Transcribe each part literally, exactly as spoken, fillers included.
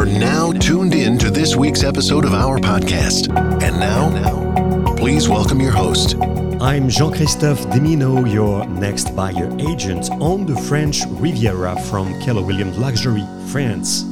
now tuned in to this week's episode of our podcast. And now, please welcome your host. I'm Jean-Christophe Dimino, your next buyer agent on the French Riviera from Keller Williams Luxury, France.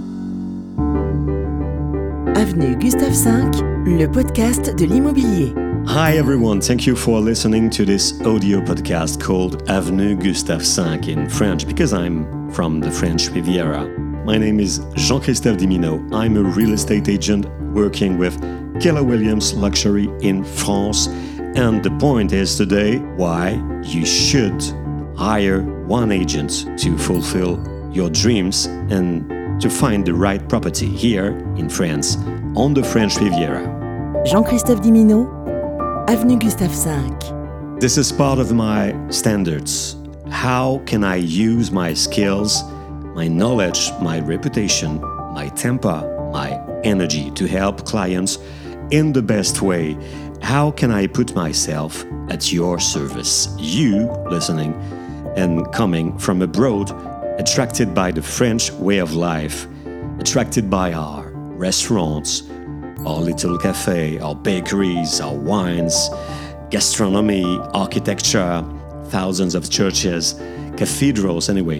Avenue Gustave cinq, le podcast de l'immobilier. Hi everyone, thank you for listening to this audio podcast called Avenue Gustave cinq in French because I'm from the French Riviera. My name is Jean-Christophe Dimino. I'm a real estate agent working with Keller Williams Luxury in France. And the point is today why you should hire one agent to fulfill your dreams and to find the right property here in France on the French Riviera. Jean-Christophe Dimino, Avenue Gustave cinq. This is part of my standards. How can I use my skills, my knowledge, my reputation, my temper, my energy to help clients in the best way? How can I put myself at your service? You listening and coming from abroad, attracted by the French way of life, attracted by our restaurants, our little cafe, our bakeries, our wines, gastronomy, architecture, thousands of churches, cathedrals, anyway.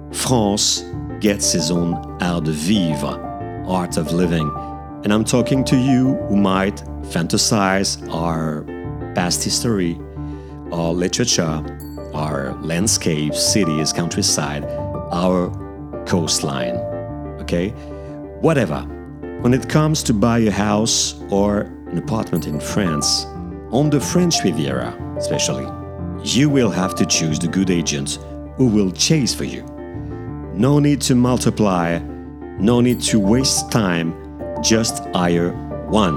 France gets its own art de vivre, art of living. And I'm talking to you who might fantasize our past history, our literature, our landscapes, cities, countryside, our coastline, okay? Whatever. When it comes to buy a house or an apartment in France, on the French Riviera especially, you will have to choose the good agents who will chase for you. No need to multiply, no need to waste time, just hire one.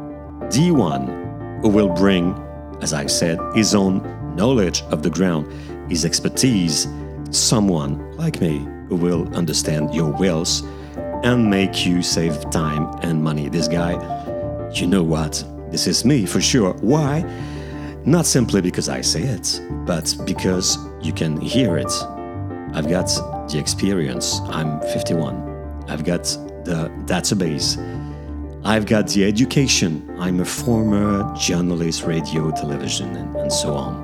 The one who will bring, as I said, his own knowledge of the ground, his expertise, someone like me who will understand your wills and make you save time and money. This guy, you know what? This is me for sure. Why? Not simply because I say it, but because you can hear it. I've got the experience. I'm fifty-one. I've got the database. I've got the education. I'm a former journalist, radio, television, and, and so on.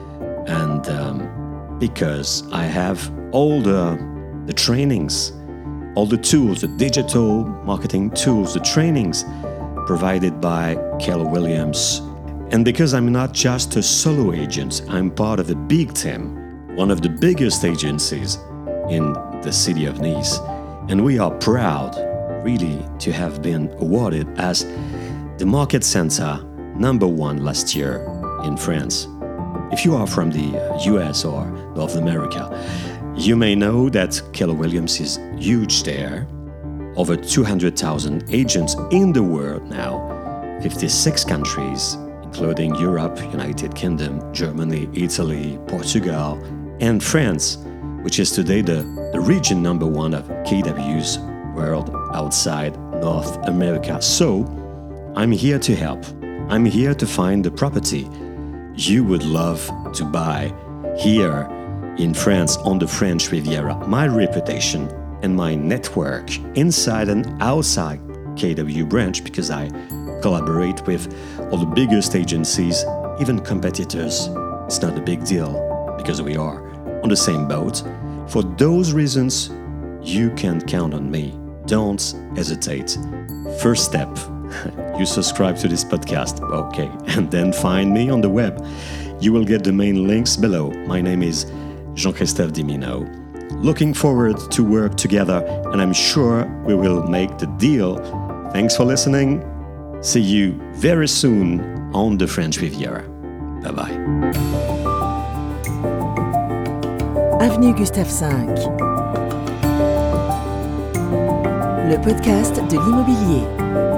And um, because I have all the, the trainings, all the tools, the digital marketing tools, the trainings provided by Keller Williams. And because I'm not just a solo agent, I'm part of a big team, one of the biggest agencies in the city of Nice. And we are proud, really, to have been awarded as the market center number one last year in France. If you are from the U S or North America, you may know that Keller Williams is huge there. Over two hundred thousand agents in the world now, fifty-six countries, including Europe, United Kingdom, Germany, Italy, Portugal, and France, which is today the, the region number one of K W's world outside North America. So, I'm here to help. I'm here to find the property you would love to buy here in France on the French Riviera. My reputation and my network inside and outside K W branch, because I collaborate with all the biggest agencies, even competitors. It's not a big deal because we are on the same boat. For those reasons, you can count on me. Don't hesitate. First step, you subscribe to this podcast, okay, and then find me on the web. You will get the main links below. My name is Jean-Christophe Dimino. Looking forward to work together, and I'm sure we will make the deal. Thanks for listening. See you very soon on the French Riviera. Bye-bye. Avenue Gustave cinq. Le podcast de l'immobilier.